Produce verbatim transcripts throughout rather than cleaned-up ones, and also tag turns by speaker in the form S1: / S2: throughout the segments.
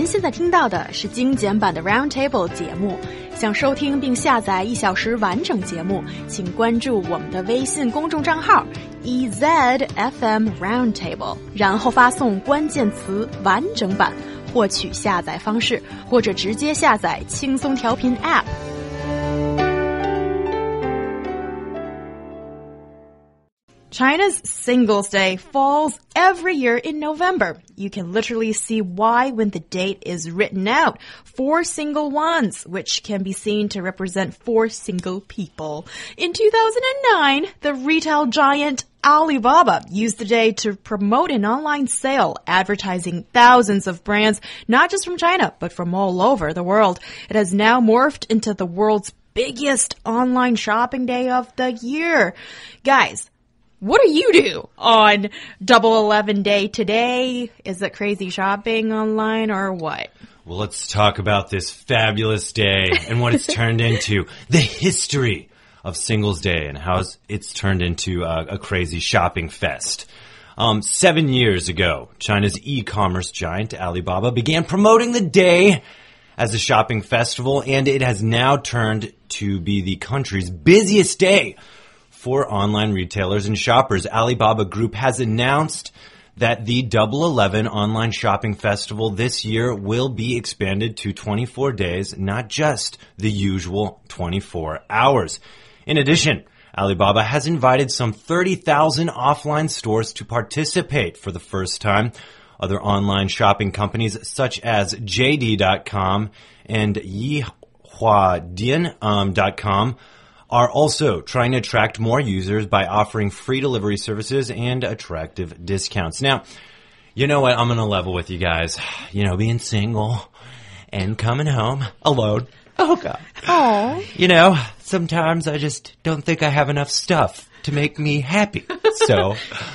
S1: 现在听到的是精简版的 Roundtable 节目。想收听并下载一小时完整节目，请关注我们的微信公众账号 E Z F M Roundtable， 然后发送关键词完整版获取下载方式，或者直接下载轻松调频 App。China's Singles Day falls every year in November. You can literally see why when the date is written out. Four single ones, which can be seen to represent four single people. In two thousand nine, the retail giant Alibaba used the day to promote an online sale, advertising thousands of brands, not just from China, but from all over the world. It has now morphed into the world's biggest online shopping day of the year. Guys, what do you do on Double Eleven Day today? Is it crazy shopping online or what?
S2: Well, let's talk about this fabulous day and what it's turned into. The history of Singles Day and how it's turned into a, a crazy shopping fest. Um, seven years ago, China's e-commerce giant Alibaba began promoting the day as a shopping festival, and it has now turned to be the country's busiest day for online retailers and shoppers. Alibaba Group has announced that the Double Eleven Online Shopping Festival this year will be expanded to twenty-four days, not just the usual twenty-four hours. In addition, Alibaba has invited some thirty thousand offline stores to participate for the first time. Other online shopping companies such as J D dot com and Yihuadian dot com are also trying to attract more users by offering free delivery services and attractive discounts. Now, you know what? I'm going to level with you guys. You know, being single and coming home alone. Oh, God.
S1: Oh.
S2: You know, sometimes I just don't think I have enough stuff to make me happy. So,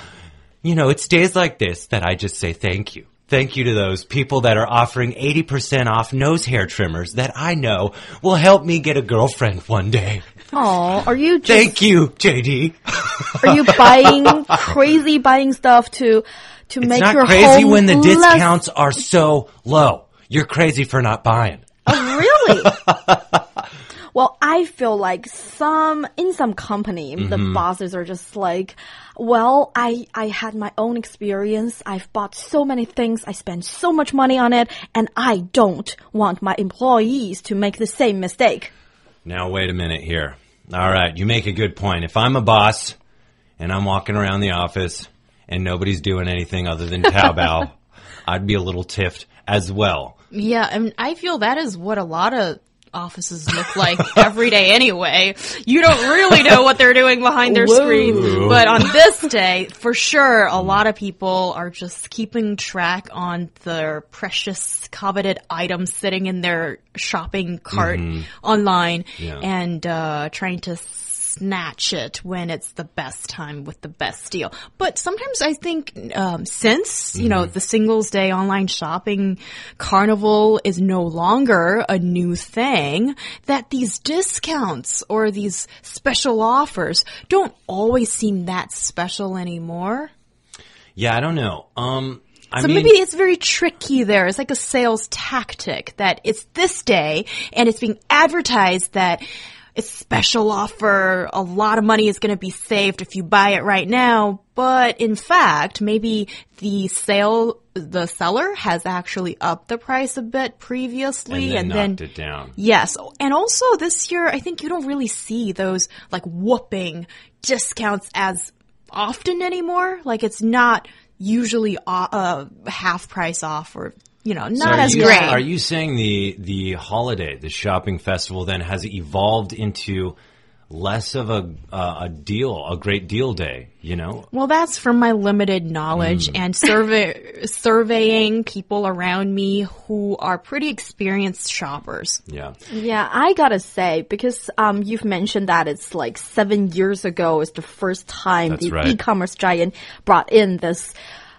S2: you know, it's days like this that I just say thank you. Thank you to those people that are offering eighty percent off nose hair trimmers that I know will help me get a girlfriend one day.
S1: Oh, are you just...
S2: Thank you, J D.
S1: Are you buying, crazy buying stuff to, to
S2: it's
S1: make
S2: not
S1: your
S2: crazy
S1: home
S2: when the
S1: less...
S2: discounts are so low. You're crazy for not buying.
S1: Oh, really? Well, I feel like some, in some company, mm-hmm. the bosses are just like, well, I, I had my own experience. I've bought so many things. I spent so much money on it. And I don't want my employees to make the same mistake.
S2: Now, wait a minute here. All right, you make a good point. If I'm a boss and I'm walking around the office and nobody's doing anything other than Taobao, I'd be a little tiffed as well.
S1: Yeah, and I feel that is what a lot of offices look like every day anyway. You don't really know what they're doing behind their
S2: Whoa.
S1: screen. But on this day, for sure, a lot of people are just keeping track on their precious, coveted items sitting in their shopping cart mm-hmm. online
S2: yeah.
S1: and uh trying to snatch it when it's the best time with the best deal. But sometimes I think um, since, you mm-hmm. know, the Singles Day online shopping carnival is no longer a new thing, that these discounts or these special offers don't always seem that special anymore.
S2: Yeah, I don't know. Um, I
S1: so
S2: mean,
S1: maybe it's very tricky there. It's like a sales tactic that it's this day and it's being advertised that it's special offer, a lot of money is going to be saved if you buy it right now. But in fact, maybe the sale, the seller has actually upped the price a bit previously.
S2: And then
S1: and
S2: knocked
S1: then,
S2: it down.
S1: Yes. And also this year, I think you don't really see those like whooping discounts as often anymore. Like it's not usually uh, half price off or you know, not
S2: so
S1: as
S2: you,
S1: great.
S2: Are you saying the the holiday, the shopping festival, then has evolved into less of a uh, a deal, a great deal day? You know.
S1: Well, that's from my limited knowledge mm. and survey surveying people around me who are pretty experienced shoppers.
S2: Yeah.
S3: Yeah, I gotta say because um you've mentioned that it's like seven years ago is the first time
S2: that's
S3: the
S2: right.
S3: e-commerce giant brought in this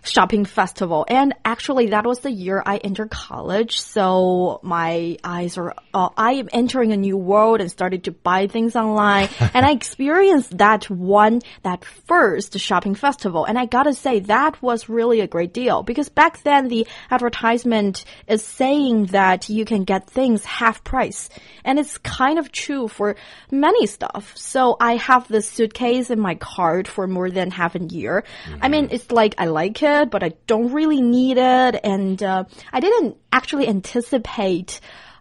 S3: shopping festival. And actually, that was the year I entered college. So my eyes are, uh, I am entering a new world and started to buy things online. And I experienced that one, that first shopping festival. And I gotta say, that was really a great deal because back then the advertisement is saying that you can get things half price. And it's kind of true for many stuff. So I have this suitcase in my cart for more than half a year. Mm-hmm. I mean, it's like I like it, but I don't really need it. And uh, I didn't actually anticipate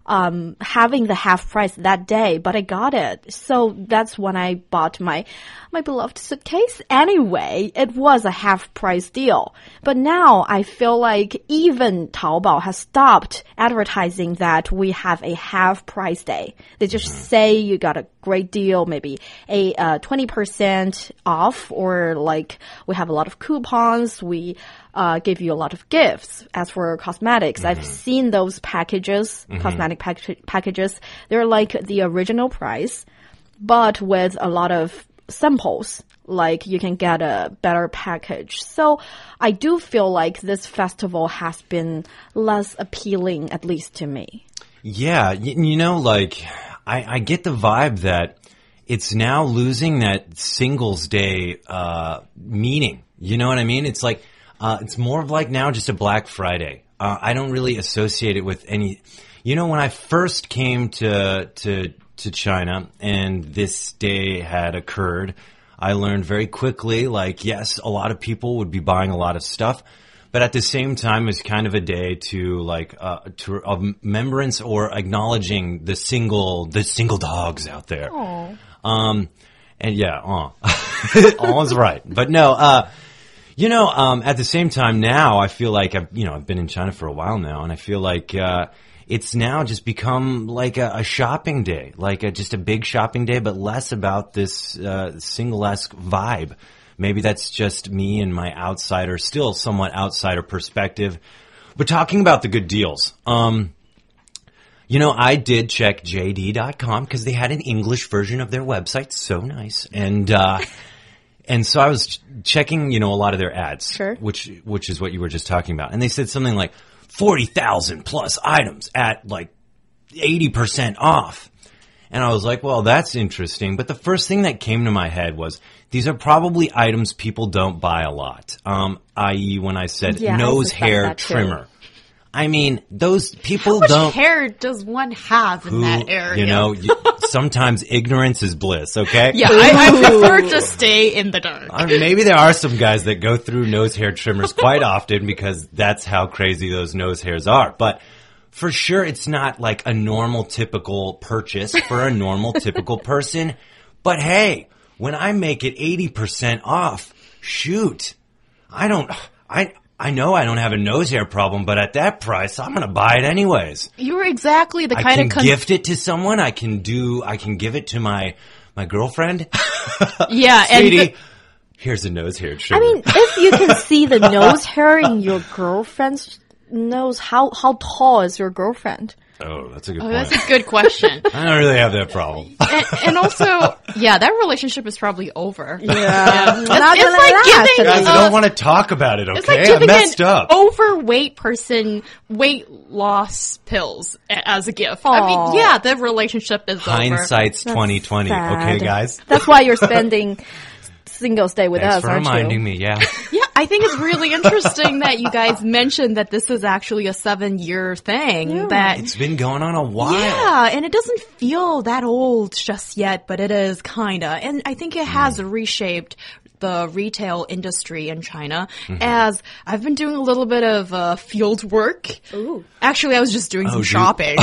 S3: um having the half price that day, but I got it. So that's when I bought my my beloved suitcase. Anyway, it was a half price deal. But now I feel like even Taobao has stopped advertising that we have a half price day. They just say you got a great deal, maybe a uh, twenty percent off, or like we have a lot of coupons, we uh give you a lot of gifts. As for cosmetics, mm-hmm. I've seen those packages, mm-hmm. cosmetic pack packages. They're like the original price, but with a lot of samples. Like you can get a better package. So I do feel like this festival has been less appealing, at least to me.
S2: Yeah, you, you know, like I, I get the vibe that it's now losing that Singles Day uh meaning. You know what I mean? It's like uh it's more of like now just a Black Friday. Uh, I don't really associate it with any. You know, when I first came to to to China and this day had occurred, I learned very quickly, like, yes, a lot of people would be buying a lot of stuff, but at the same time, it's kind of a day to like uh, to of remembrance or acknowledging the single the single dogs out there.
S3: Aww.
S2: Um, and yeah, uh, all is right, but no, uh. You know, um, at the same time now, I feel like I've, you know, I've been in China for a while now, and I feel like, uh, it's now just become like a, a shopping day, like a, just a big shopping day, but less about this, uh, single-esque vibe. Maybe that's just me and my outsider, still somewhat outsider perspective. But talking about the good deals, um, you know, I did check J D dot com because they had an English version of their website. So nice. And, uh, And so I was checking, you know, a lot of their ads,
S3: sure.
S2: which which is what you were just talking about. And they said something like forty thousand plus items at like eighty percent off. And I was like, well, that's interesting. But the first thing that came to my head was these are probably items people don't buy a lot, um, that is when I said
S3: yeah,
S2: nose
S3: I
S2: hair trimmer. I mean, those people
S1: How much
S2: don't.
S1: hair does one have in
S2: who,
S1: that area?
S2: You know, you, sometimes ignorance is bliss, okay?
S1: Yeah, I, I prefer to stay in the dark.
S2: Uh, maybe there are some guys that go through nose hair trimmers quite often because that's how crazy those nose hairs are. But for sure, it's not like a normal, typical purchase for a normal, typical person. But hey, when I make it eighty percent off, shoot, I don't, I, I know I don't have a nose hair problem, but at that price, I'm going to buy it anyways.
S1: You're exactly the
S2: I
S1: kind
S2: can
S1: of con-
S2: gift it to someone. I can do. I can give it to my my girlfriend.
S1: Yeah,
S2: Sweetie,
S1: and the-
S2: here's a nose hair trimmer.
S3: I mean, if you can see the nose hair in your girlfriend's nose, how how tall is your girlfriend?
S2: Oh, that's a good
S1: Oh,
S2: point.
S1: that's a good question.
S2: I don't really have that problem.
S1: and, and also, yeah, that relationship is probably over.
S3: Yeah.
S1: Yeah. It's,
S3: Not
S1: it's
S3: gonna
S1: like
S3: last,
S1: giving,
S3: at
S2: Guys,
S3: least.
S2: I
S1: uh,
S2: don't want to talk about it, okay?
S1: it's like
S2: I
S1: giving
S2: messed
S1: an
S2: up.
S1: overweight person weight loss pills a- as a gift. I mean,
S3: Aw.
S1: yeah, the relationship is over.
S2: Hindsight's twenty twenty, okay,
S3: sad.
S2: guys?
S3: That's why you're spending Singles Day with
S2: Thanks
S3: us,
S2: for
S3: aren't
S2: reminding
S3: you?
S2: me, yeah.
S1: Yeah, I think it's really interesting that you guys mentioned that this is actually a seven-year thing.
S3: Yeah.
S1: That
S2: It's been going on a while.
S1: Yeah, and it doesn't feel that old just yet, but it is kinda. And I think it has reshaped the retail industry in China.
S2: Mm-hmm.
S1: As I've been doing a little bit of uh, field work.
S3: Ooh.
S1: Actually, I was just doing
S2: Oh,
S1: some
S2: dude.
S1: shopping.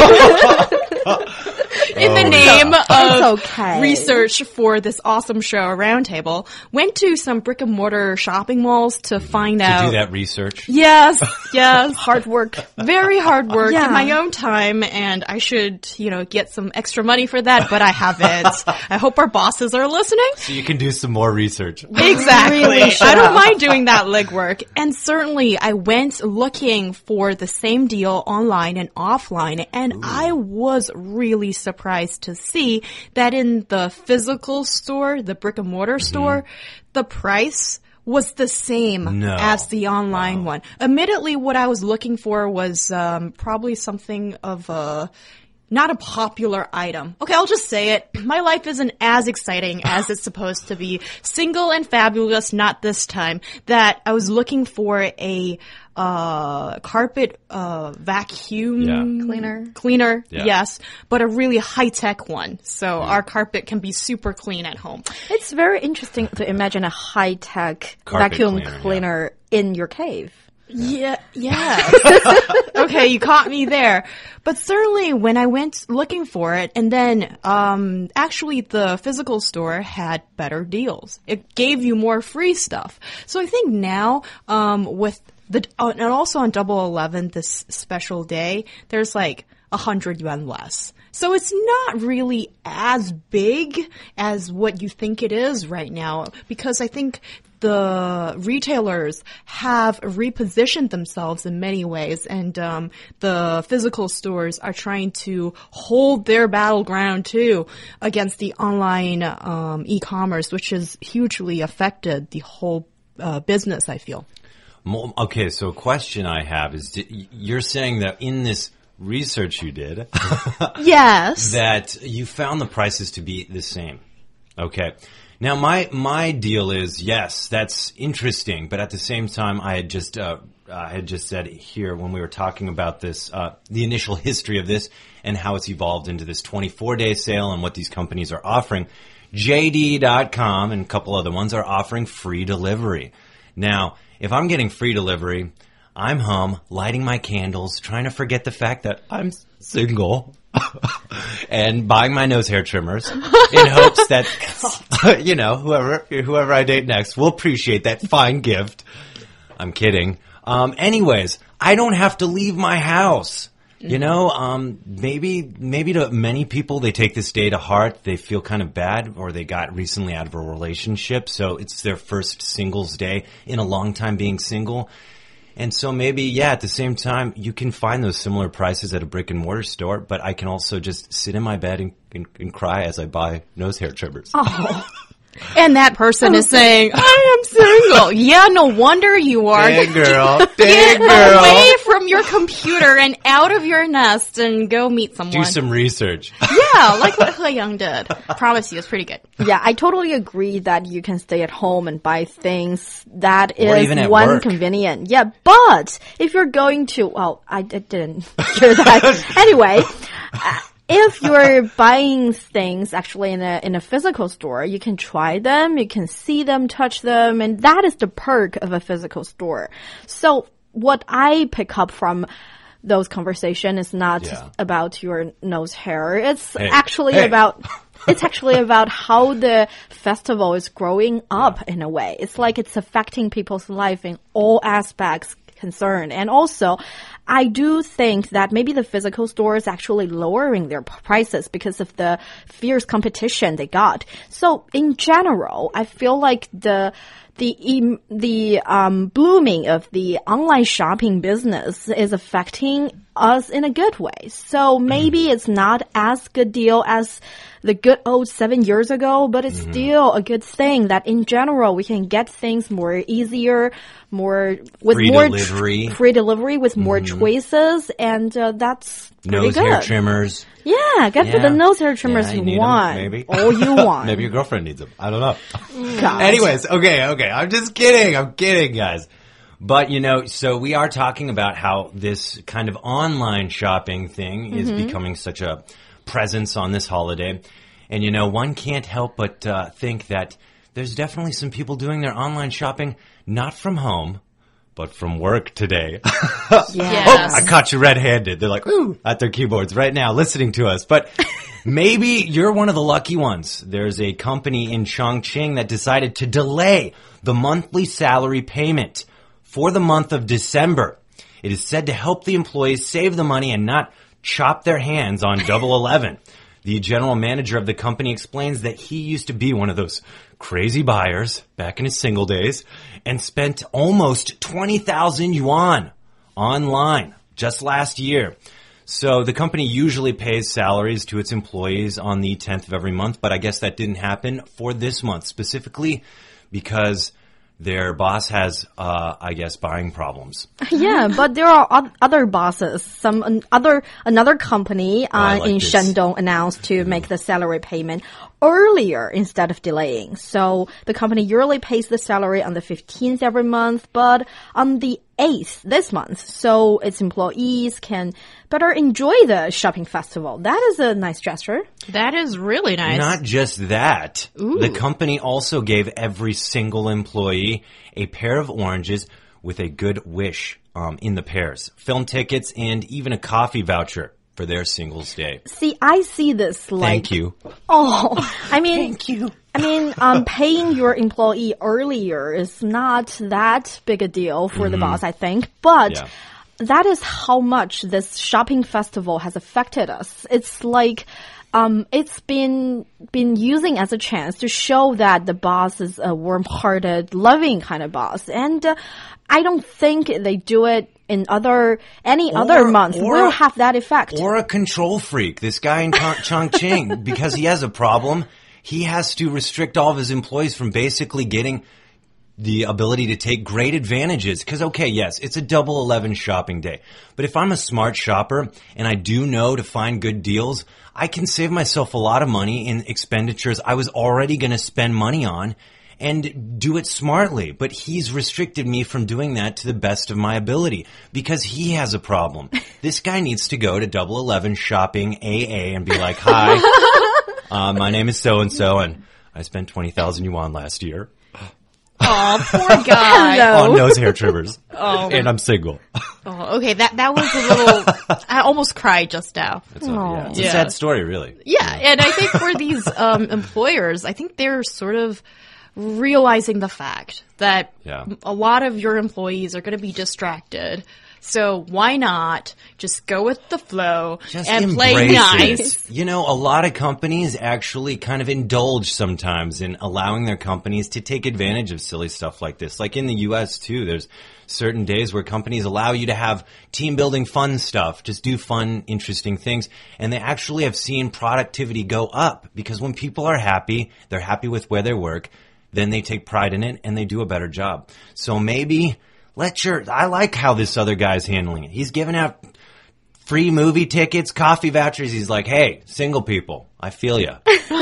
S1: In the
S2: Oh,
S1: name
S3: It's
S1: of
S3: okay.
S1: research for this awesome show, Roundtable, went to some brick and mortar shopping malls to find
S2: To
S1: out.
S2: do that research.
S1: Yes, yes.
S3: Hard work.
S1: Very hard work
S3: Yeah.
S1: in my own time, and I should, you know, get some extra money for that, but I haven't. I hope our bosses are listening.
S2: So you can do some more research.
S1: Exactly.
S3: Really should
S1: I don't
S3: have.
S1: mind doing that legwork. And certainly I went looking for the same deal online and offline, and I was really surprised to see that in the physical store, the brick and mortar store, the price was the same
S2: No.
S1: as the online one. Admittedly, what I was looking for was um, probably something of a not a popular item. Okay, I'll just say it. My life isn't as exciting as it's supposed to be. Single and fabulous, not this time. That I was looking for a uh carpet uh vacuum
S2: Yeah.
S3: Cleaner.
S1: cleaner,
S2: Yeah.
S1: yes, but a really high-tech one. So our carpet can be super clean at home.
S3: It's very interesting to imagine a high-tech
S2: Carpet
S3: vacuum
S2: cleaner,
S3: cleaner,
S2: yeah.
S3: in your cave.
S1: Yeah, yeah. Okay, you caught me there. But certainly when I went looking for it, and then um actually the physical store had better deals. It gave you more free stuff. So I think now um with the uh, and also on Double Eleven this special day, there's like a hundred yuan less. So it's not really as big as what you think it is right now, because I think the retailers have repositioned themselves in many ways, and um, the physical stores are trying to hold their battleground too against the online um, e-commerce, which has hugely affected the whole uh, business, I feel.
S2: Mo- Okay, so a question I have is, di- you're saying that in this research you did,
S1: Yes.
S2: that you found the prices to be the same. Okay. Now, my my deal is, yes, that's interesting, but at the same time, I had just uh, I had just said here when we were talking about this, uh, the initial history of this and how it's evolved into this twenty-four day sale and what these companies are offering. J D dot com and a couple other ones are offering free delivery. Now, if I'm getting free delivery, I'm home, lighting my candles, trying to forget the fact that I'm single, and buying my nose hair trimmers in hopes that, you know, whoever whoever I date next will appreciate that fine gift. I'm kidding. Um, anyways, I don't have to leave my house. You know, um, maybe maybe to many people, they take this day to heart. They feel kind of bad, or they got recently out of a relationship, so it's their first singles day in a long time being single. And so maybe, yeah, at the same time, you can find those similar prices at a brick and mortar store, but I can also just sit in my bed and, and, and cry as I buy nose hair trimmers.
S1: Oh. And that person is saying, I am single. Yeah, no wonder you are.
S2: Dang girl.
S1: Get
S2: Dang girl.
S1: away from your computer and out of your nest and go meet someone.
S2: Do some research.
S1: Yeah, like what He Young did. Promise you, it's pretty good.
S3: Yeah, I totally agree that you can stay at home and buy things. That
S2: Or
S3: is
S2: even at
S3: one
S2: work.
S3: convenient. Yeah, but if you're going to, well, I, I didn't hear that. Anyway, uh, if you're buying things actually in a in a physical store, you can try them, you can see them, touch them, and that is the perk of a physical store. So what I pick up from those conversations is not
S2: Yeah.
S3: about your nose hair. It's
S2: Hey,
S3: actually
S2: hey.
S3: about it's actually about how the festival is growing up in a way. It's like it's affecting people's life in all aspects concerned. And also, I do think that maybe the physical store is actually lowering their p- prices because of the fierce competition they got. So in general, I feel like the the em- the um, blooming of the online shopping business is affecting us in a good way. So maybe it's not as good deal as the good old seven years ago, but it's still a good thing that in general we can get things more easier, more with
S2: Free
S3: more
S2: delivery.
S3: free delivery with more choices, and uh, that's pretty
S2: Nose
S3: good.
S2: hair trimmers.
S3: Yeah, get for
S2: Yeah.
S3: the nose hair trimmers
S2: Yeah,
S3: you
S2: you need 'em,
S3: want,
S2: maybe.
S3: all you want.
S2: Maybe your girlfriend needs them. I don't know.
S3: God.
S2: Anyways, okay, okay. I'm just kidding. I'm kidding, guys. But, you know, so we are talking about how this kind of online shopping thing is becoming such a presence on this holiday. And, you know, one can't help but uh, think that there's definitely some people doing their online shopping not from home, but from work today.
S1: Yes.
S2: I caught you red-handed. They're like, ooh, at their keyboards right now listening to us. But maybe you're one of the lucky ones. There's a company in Chongqing that decided to delay the monthly salary payment for the month of December. It is said to help the employees save the money and not chop their hands on Double Eleven. The general manager of the company explains that he used to be one of those crazy buyers back in his single days and spent almost twenty thousand yuan online just last year. So the company usually pays salaries to its employees on the tenth of every month, but I guess that didn't happen for this month specifically because their boss has, uh, I guess, buying problems.
S3: Yeah, but there are o- other bosses. Some an other another company
S2: Oh, I
S3: uh,
S2: like
S3: in
S2: this.
S3: Shandong announced to make the salary payment earlier instead of delaying. So the company usually pays the salary on the fifteenth every month, but on the eighth this month, so its employees can better enjoy the shopping festival. That is a nice gesture.
S1: That is really nice.
S2: Not just that. The company also gave every single employee a pair of oranges with a good wish um, in the pairs, film tickets, and even a coffee voucher for their Singles Day.
S3: See, I see this like
S2: Thank you.
S3: Oh, I mean,
S2: Thank you.
S3: I mean, um, paying your employee earlier is not that big a deal for the boss, I think. But
S2: Yeah.
S3: that is how much this shopping festival has affected us. It's like, um, it's been been using as a chance to show that the boss is a warm-hearted, loving kind of boss, and uh, I don't think they do it in other any other month
S2: or-
S3: will have that effect.
S2: Or a control freak. This guy in Chong- Chongqing, because he has a problem, he has to restrict all of his employees from basically getting the ability to take great advantages. Because, okay, yes, it's a double eleven shopping day. But if I'm a smart shopper and I do know to find good deals, I can save myself a lot of money in expenditures I was already going to spend money on and do it smartly. But he's restricted me from doing that to the best of my ability because he has a problem. This guy needs to go to double eleven shopping A A and be like, hi, uh, my name is so-and-so and I spent twenty thousand yuan last year
S1: Oh, poor guy.
S3: Hello.
S2: on nose hair trimmers. And I'm single.
S1: Oh, okay, that that was a little. I almost cried just now.
S2: It's a, yeah, it's a
S1: Yeah.
S2: sad story, really.
S1: Yeah, and I think for these um, employers, I think they're sort of realizing the fact that
S2: Yeah.
S1: a lot of your employees are going to be distracted. So why not just go with the flow
S2: Just
S1: and play
S2: embrace
S1: nice?
S2: it. You know, a lot of companies actually kind of indulge sometimes in allowing their companies to take advantage of silly stuff like this. Like in the U S too, there's certain days where companies allow you to have team building fun stuff, just do fun, interesting things. And they actually have seen productivity go up because when people are happy, they're happy with where they work, then they take pride in it and they do a better job. So maybe let your, I like how this other guy's handling it. He's giving out free movie tickets, coffee vouchers. He's like, hey, single people, I feel ya.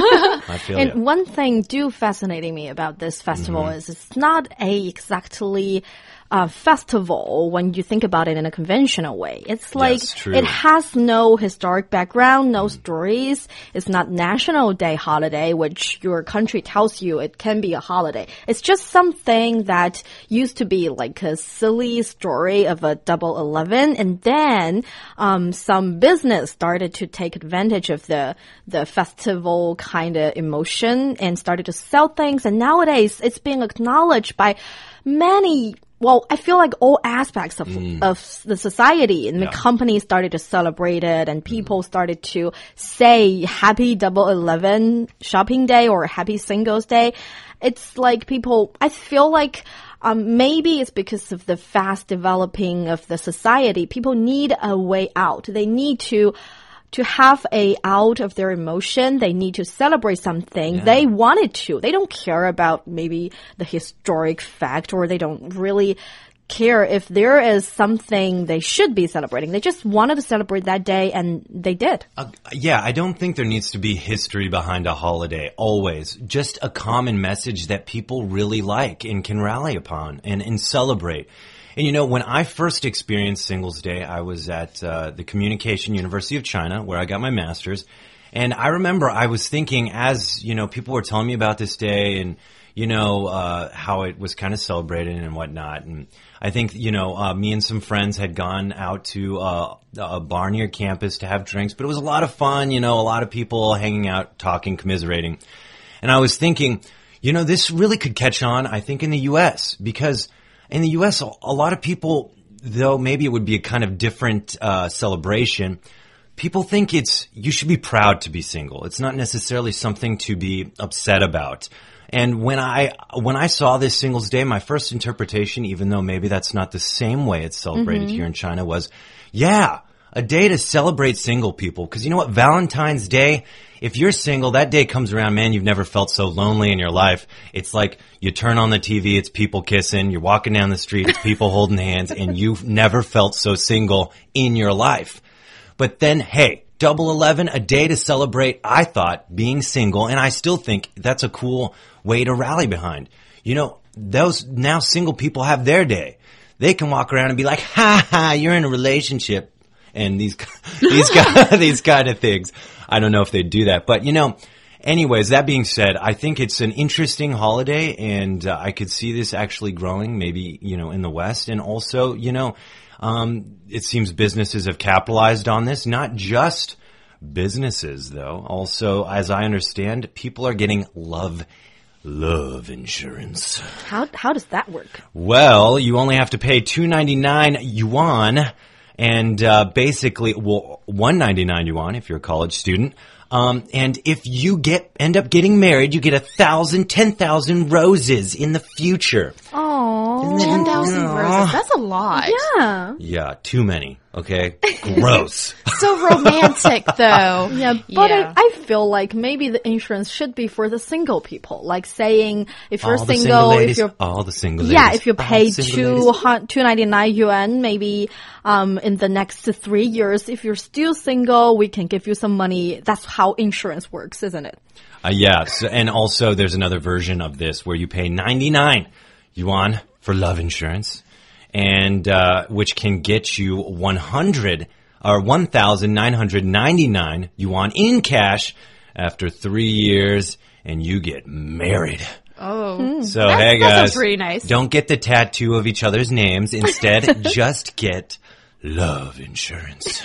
S2: I feel
S3: And
S2: ya.
S3: one thing do fascinating me about this festival
S2: Mm-hmm.
S3: is it's not a exactly uh, festival when you think about it in a conventional way. It's like
S2: Yes, true.
S3: it has no historic background, no stories. It's not National Day holiday, which your country tells you it can be a holiday. It's just something that used to be like a silly story of a double eleven, and then um, some business started to take advantage of the the festival kind of emotion and started to sell things. And nowadays, it's being acknowledged by many. Well, I feel like all aspects of of the society and the
S2: Yeah.
S3: companies started to celebrate it, and people started to say Happy Double Eleven Shopping Day or Happy Singles Day. It's like people. I feel like. Um, maybe it's because of the fast developing of the society. People need a way out. They need to to have a out of their emotion. They need to celebrate something. They want it to. They don't care about maybe the historic fact, or they don't really care if there is something they should be celebrating. They just wanted to celebrate that day, and they did.
S2: Uh, yeah, I don't think there needs to be history behind a holiday, always. Just a common message that people really like and can rally upon and, and celebrate. And you know, when I first experienced Singles Day, I was at uh, the Communication University of China, where I got my master's. And I remember I was thinking, as, you know, people were telling me about this day and, you know, uh, how it was kind of celebrated and whatnot. And I think, you know, uh, me and some friends had gone out to uh, a bar near campus to have drinks, but it was a lot of fun, you know, a lot of people hanging out, talking, commiserating. And I was thinking, you know, this really could catch on, I think, in the U S because in the U S, a lot of people, though maybe it would be a kind of different uh, celebration, people think it's, you should be proud to be single. It's not necessarily something to be upset about. And when I, when I saw this Singles Day, my first interpretation, even though maybe that's not the same way it's celebrated here in China, was, yeah, a day to celebrate single people. Because you know what? Valentine's Day, if you're single, that day comes around, man, you've never felt so lonely in your life. It's like you turn on the T V, it's people kissing. You're walking down the street, it's people holding hands. And you've never felt so single in your life. But then, hey, Double eleven, a day to celebrate, I thought, being single. And I still think that's a cool way to rally behind. You know, those now single people have their day. They can walk around and be like, ha ha, you're in a relationship. And these, these, these kind of things. I don't know if they'd do that. But, you know, anyways, that being said, I think it's an interesting holiday. And uh, I could see this actually growing maybe, you know, in the West. And also, you know, um, it seems businesses have capitalized on this. Not just businesses, though. Also, as I understand, people are getting love Love insurance.
S3: How how does that work?
S2: Well, you only have to pay two ninety-nine yuan, and uh, basically, well, one ninety-nine yuan if you're a college student. Um, and if you get end up getting married, you get a thousand, ten thousand roses in the future.
S3: Oh,
S1: ten thousand roses. That's a lot.
S3: Yeah.
S2: Yeah, too many. Okay, gross.
S1: So romantic, though.
S3: Yeah, but
S1: Yeah.
S3: I, I feel like maybe the insurance should be for the single people. Like saying if you're
S2: all the
S3: single,
S2: single ladies,
S3: if you're
S2: all the single
S3: yeah,
S2: ladies,
S3: if you
S2: all
S3: pay
S2: single
S3: two
S2: ladies.
S3: two ninety nine yuan, maybe um in the next three years, if you're still single, we can give you some money. That's how insurance works, isn't it?
S2: Uh, yeah, so, and also there's another version of this where you pay ninety-nine yuan for love insurance, and uh, which can get you one hundred or one thousand nine hundred ninety-nine yuan in cash after three years, and you get married.
S1: Oh.
S2: So
S1: That's-
S2: hey
S1: that sounds
S2: guys,
S1: pretty nice.
S2: don't get the tattoo of each other's names. Instead, just get love insurance.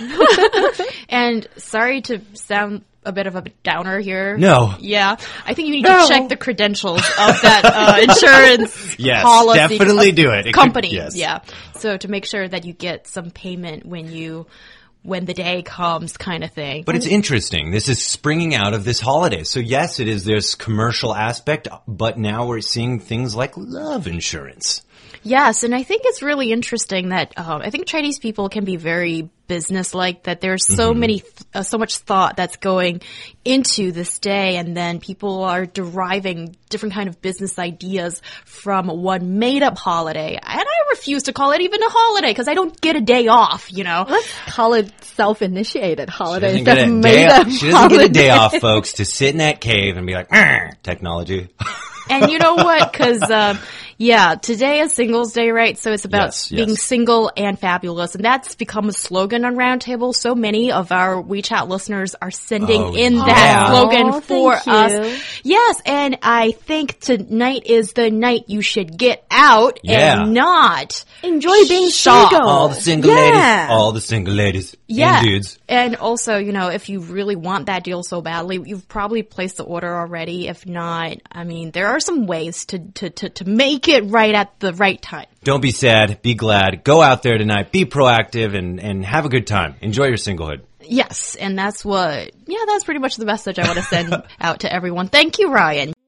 S1: And sorry to sound a bit of a downer here.
S2: No.
S1: Yeah. I think you need
S3: No.
S1: to check the credentials of that uh, insurance
S2: Yes,
S1: policy.
S2: definitely do it. It could-
S1: Company.
S2: yes.
S1: Yeah. So to make sure that you get some payment when you, when the day comes kind of thing.
S2: But it's interesting. This is springing out of this holiday. So yes, it is this commercial aspect, but now we're seeing things like love insurance.
S1: Yes, and I think it's really interesting that um, I think Chinese people can be very business-like. That there's so
S2: Mm-hmm.
S1: many, th- uh, so much thought that's going into this day, and then people are deriving different kind of business ideas from one made-up holiday. And I refuse to call it even a holiday because I don't get a day off. You know,
S3: Let's call it self-initiated
S2: She
S3: holiday
S2: doesn't, get
S3: instead
S2: a
S3: of
S2: day
S3: made
S2: off,
S3: up
S2: she doesn't get a day
S3: holiday.
S2: off, folks, to sit in that cave and be like, "Arr, technology.
S1: and you know what? Because um, yeah, today is Singles Day, right? So it's about
S2: Yes,
S1: being
S2: yes.
S1: single and fabulous, and that's become a slogan on Roundtable. So many of our WeChat listeners are sending
S2: Oh,
S1: in
S2: yeah.
S1: that
S3: Aw,
S1: slogan for
S3: thank you.
S1: us. Yes, and I think tonight is the night you should get out
S2: Yeah.
S1: and not
S3: Enjoy being
S1: shop.
S3: single.
S2: All the single
S3: Yeah.
S2: ladies, all the single ladies
S1: Yeah.
S2: and dudes.
S1: And also, you know, if you really want that deal so badly, you've probably placed the order already. If not, I mean, there are some ways to, to, to, to make it right at the right time.
S2: Don't be sad, be glad, go out there tonight, be proactive, and, and have a good time. Enjoy your singlehood.
S1: Yes, and that's what, yeah, that's pretty much the message I want to send out to everyone. Thank you, Ryan.